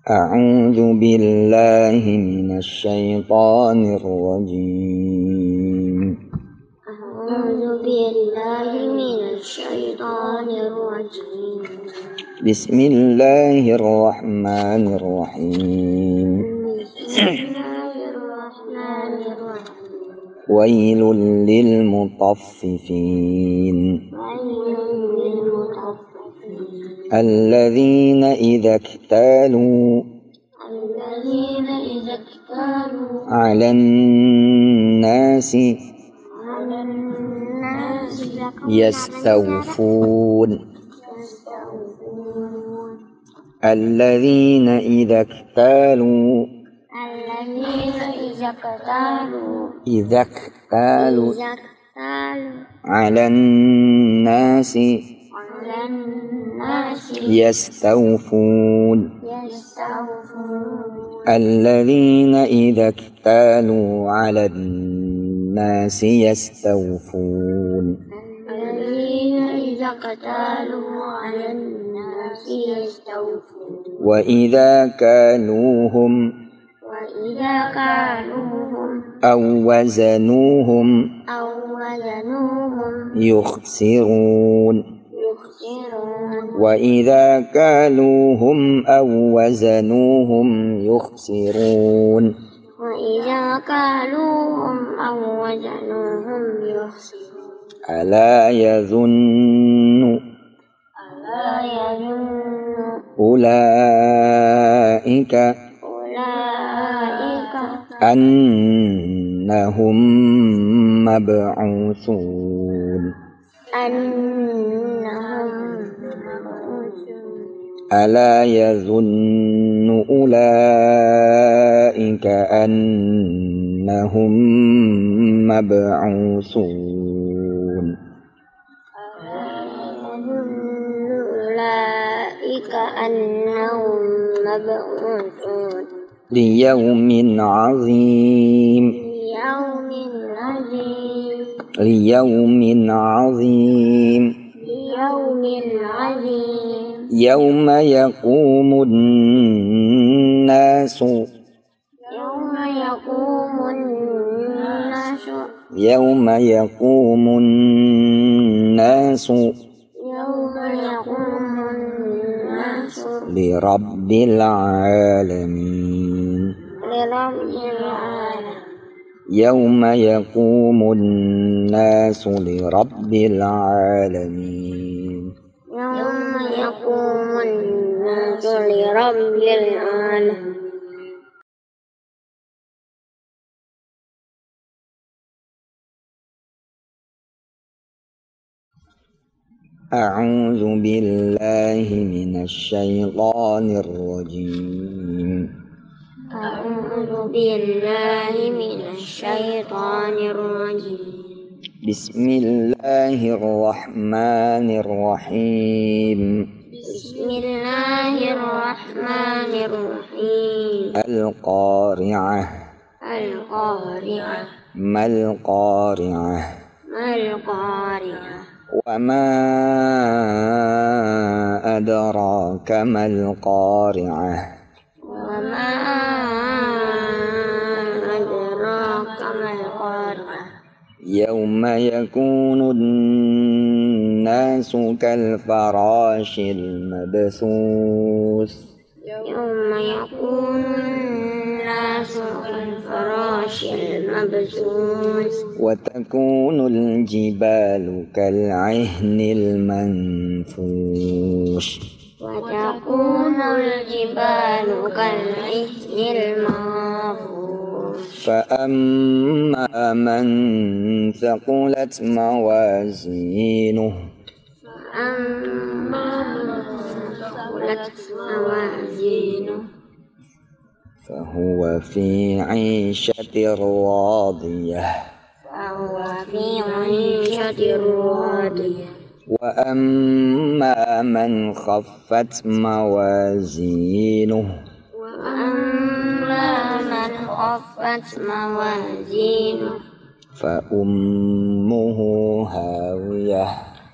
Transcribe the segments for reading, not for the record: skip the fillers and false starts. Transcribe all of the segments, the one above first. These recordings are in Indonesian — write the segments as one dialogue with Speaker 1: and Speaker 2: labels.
Speaker 1: أعوذ بالله من الشيطان الرجيم.
Speaker 2: أعوذ بالله من الشيطان الرجيم.
Speaker 1: بسم الله الرحمن الرحيم.
Speaker 2: بسم الله الرحمن الرحيم.
Speaker 1: ويل للمطففين
Speaker 2: ويل للمطففين
Speaker 1: الذين إذا اكتالوا على الناس يستوفون الذين إذا اكتالوا على الناس يستوفون الذين إذا اكتالوا على الناس يستوفون وإذا كالوهم أو وزنوهم يخسرون وإذا كالوهم أو وزنوهم يخسرون ألا يظن أولئك أنهم مبعوثون ألا يظن أولئك أنهم مبعوثون ليوم عظيم يوم يقوم الناس لرب العالمين يوم يقوم الناس لرب العالمين أعوذ بالله من الشيطان الرجيم. بسم الله الرحمن الرحيم. القارعة ما القارعة وما أدراك ما القارعة يوم يكون الناس كالفراش المبثوث وتكون الجبال كالعهن المنفوش فأما من ثقلت موازينه فهو في عيشة راضية وأما من خفت موازينه فأمه هاوية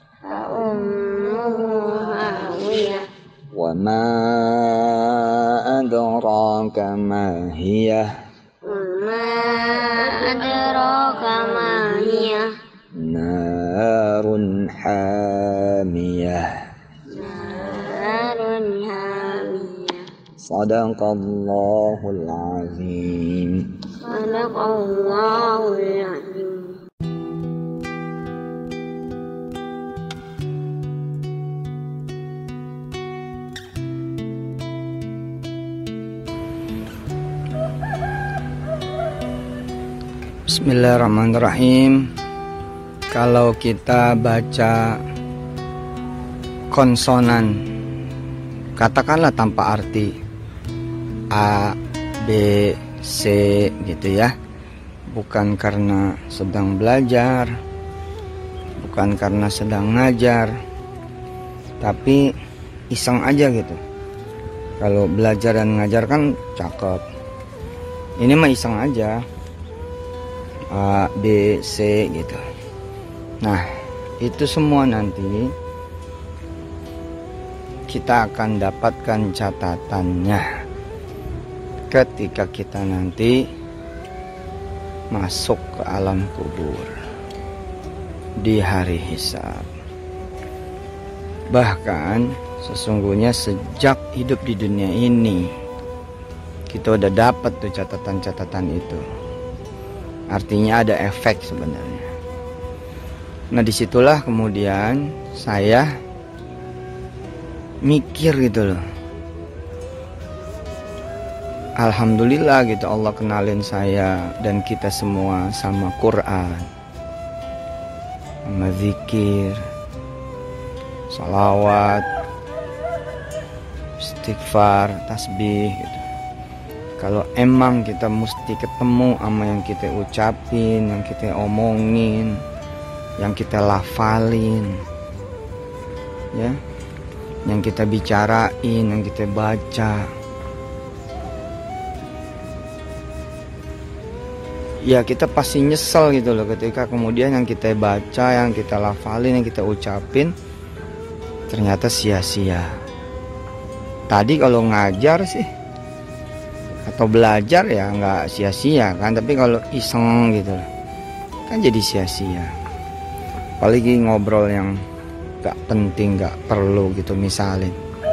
Speaker 1: وما أدراك ما هي
Speaker 2: وما أدراك ما هي
Speaker 1: نار حامية
Speaker 2: نار حامية
Speaker 1: صدق الله العظيم.
Speaker 2: صدق الله العظيم.
Speaker 3: Bismillahirrahmanirrahim. Kalau kita baca konsonan, katakanlah tanpa arti A, B, C gitu ya, bukan karena sedang belajar, bukan karena sedang ngajar, tapi iseng aja gitu. Kalau belajar dan ngajar kan cakep, ini mah iseng aja, A, B, C gitu. Nah, itu semua nanti kita akan dapatkan catatannya ketika kita nanti masuk ke alam kubur di hari hisab. Bahkan sesungguhnya sejak hidup di dunia ini kita udah dapat tuh catatan-catatan itu. Artinya ada efek sebenarnya. Nah, disitulah kemudian saya mikir gitu loh. Alhamdulillah gitu, Allah kenalin saya dan kita semua sama Quran, sama zikir, salawat, istighfar, tasbih gitu. Kalau emang kita mesti ketemu sama yang kita ucapin, yang kita omongin, yang kita lafalin, ya, yang kita bicarain, yang kita baca, ya kita pasti nyesel gitu loh ketika kemudian yang kita baca, yang kita lafalin, yang kita ucapin ternyata sia-sia. Tadi kalau ngajar sih atau belajar ya nggak sia-sia kan, tapi kalau iseng gitu kan jadi sia-sia. Apalagi ngobrol yang nggak penting, nggak perlu gitu misalnya.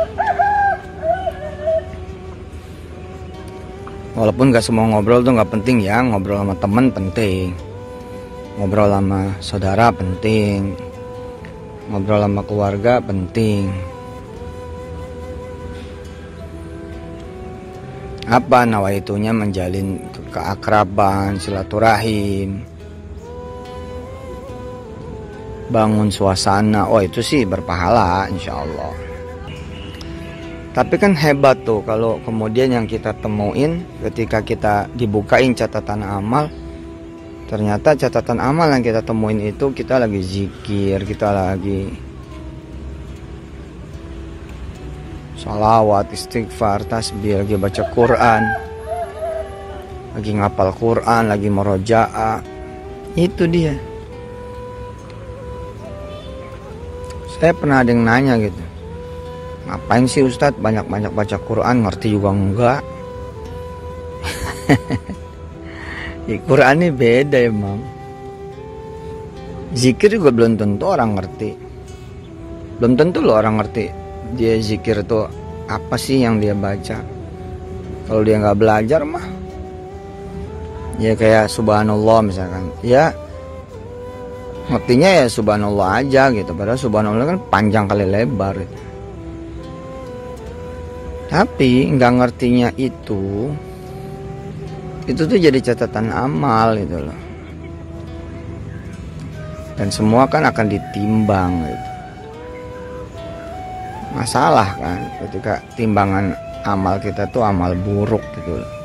Speaker 3: Walaupun nggak semua ngobrol tuh nggak penting ya, ngobrol sama temen penting, ngobrol sama saudara penting, ngobrol sama keluarga penting. Apa nawaitunya? Menjalin keakraban, silaturahim, bangun suasana. Oh, itu sih berpahala insya Allah. Tapi kan hebat tuh kalau kemudian yang kita temuin ketika kita dibukain catatan amal, ternyata catatan amal yang kita temuin itu kita lagi zikir, kita lagi salawat, istighfar, tasbih, lagi baca Quran, lagi ngapal Quran, lagi merojaah. Itu dia. Saya pernah ada yang nanya gitu, ngapain sih Ustadz banyak-banyak baca Quran, ngerti juga enggak? Ya, Quran ini beda emang. Zikir juga belum tentu orang ngerti. Belum tentu loh orang ngerti dia zikir itu apa sih yang dia baca. Kalau dia nggak belajar mah ya kayak subhanallah misalkan, ya ngertinya ya subhanallah aja gitu, padahal subhanallah kan panjang kali lebar gitu. Tapi nggak ngertinya itu tuh jadi catatan amal gitu loh, dan semua kan akan ditimbang gitu. Masalah kan ketika timbangan amal kita tuh amal buruk gitu loh.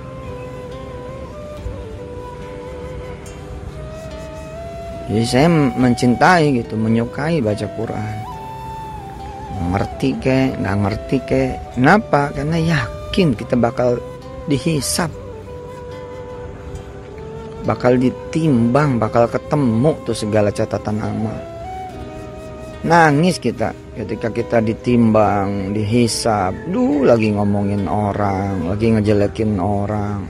Speaker 3: Jadi saya mencintai gitu, menyukai baca Quran. Ngerti kek, nggak ngerti kek. Kenapa? Karena yakin kita bakal dihisap, bakal ditimbang, bakal ketemu tuh segala catatan amal. Nangis kita ketika kita ditimbang, dihisab, lagi ngomongin orang, lagi ngejelekin orang,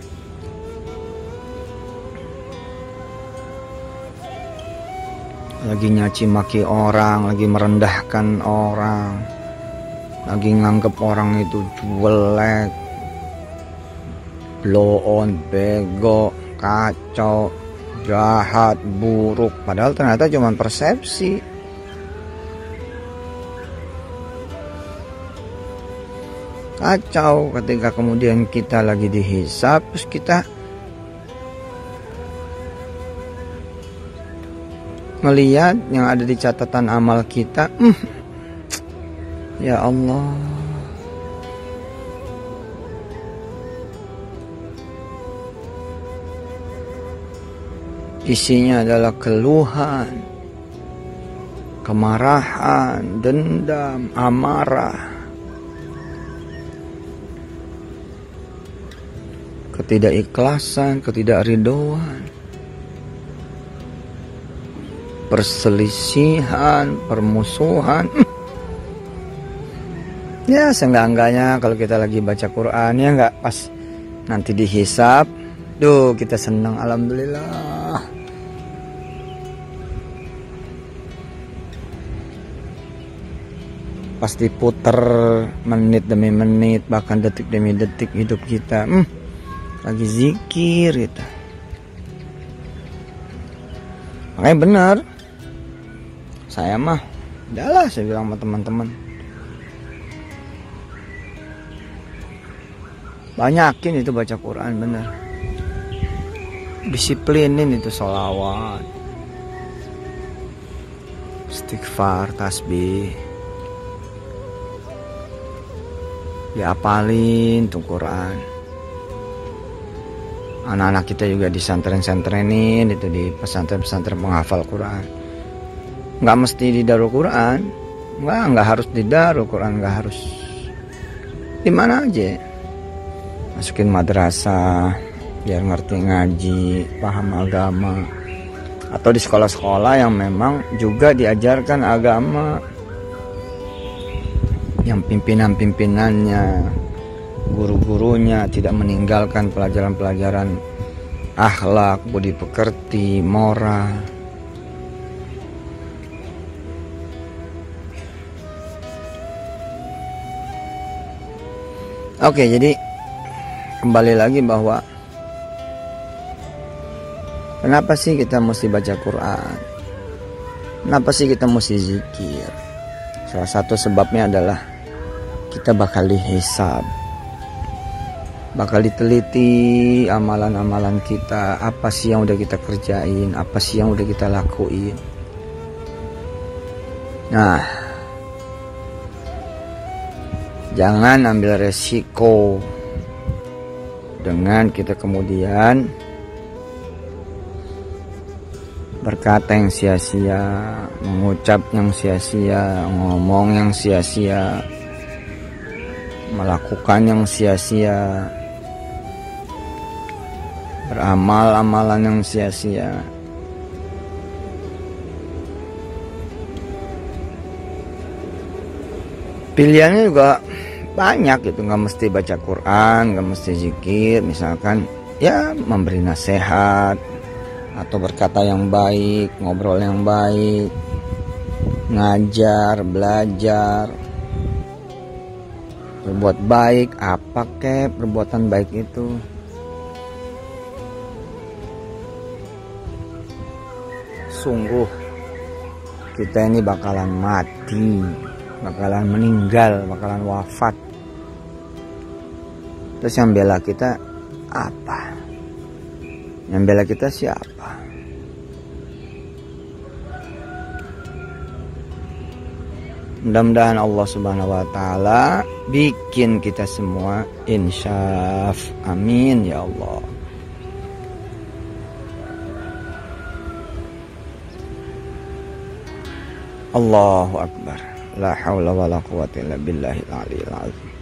Speaker 3: lagi nyaci maki orang, lagi merendahkan orang, lagi nganggep orang itu jelek, blow on, bego, kacau, jahat, buruk, padahal ternyata cuma persepsi. Kacau ketika kemudian kita lagi dihisab, terus kita melihat yang ada di catatan amal kita, ya Allah, isinya adalah keluhan, kemarahan, dendam, amarah, ketidakikhlasan, ketidakridhoan, perselisihan, permusuhan. Ya seenggak-enggaknya kalau kita lagi baca Quran, ya enggak, pas nanti dihisab, kita senang, alhamdulillah. Pas diputer menit demi menit, bahkan detik demi detik hidup kita, lagi zikir gitu. Makanya benar, saya mah udahlah, saya bilang sama teman-teman, banyakin itu baca Quran, bener, disiplinin itu sholawat, istighfar, tasbih, diapalin tuh Quran. Anak-anak kita juga disantren-santrenin itu, di pesantren-pesantren penghafal Quran. Nggak mesti di Darul Quran, nggak harus di Darul Quran, nggak harus di mana aja. Masukin madrasah biar ngerti ngaji, paham agama, atau di sekolah-sekolah yang memang juga diajarkan agama, yang pimpinan-pimpinannya, guru-gurunya tidak meninggalkan pelajaran-pelajaran akhlak, budi pekerti, moral. Oke, jadi kembali lagi bahwa kenapa sih kita mesti baca Quran? Kenapa sih kita mesti zikir? Salah satu sebabnya adalah kita bakal dihisab, bakal diteliti amalan-amalan kita, apa sih yang udah kita kerjain, apa sih yang udah kita lakuin. Nah, jangan ambil resiko dengan kita kemudian berkata yang sia-sia, mengucap yang sia-sia, ngomong yang sia-sia, melakukan yang sia-sia, beramal amalan yang sia-sia. Pilihannya juga banyak gitu, nggak mesti baca Quran, nggak mesti zikir. Misalkan ya memberi nasihat, atau berkata yang baik, ngobrol yang baik, ngajar, belajar, berbuat baik. Apa kek perbuatan baik itu? Sungguh kita ini bakalan mati, bakalan meninggal, bakalan wafat. Terus yang bela kita apa? Yang bela kita siapa? Mudah-mudahan Allah Subhanahu wa Ta'ala bikin kita semua insyaf. Amin ya Allah. Allahu Akbar. La haula wa la quwwata illa billahil aliyil azim.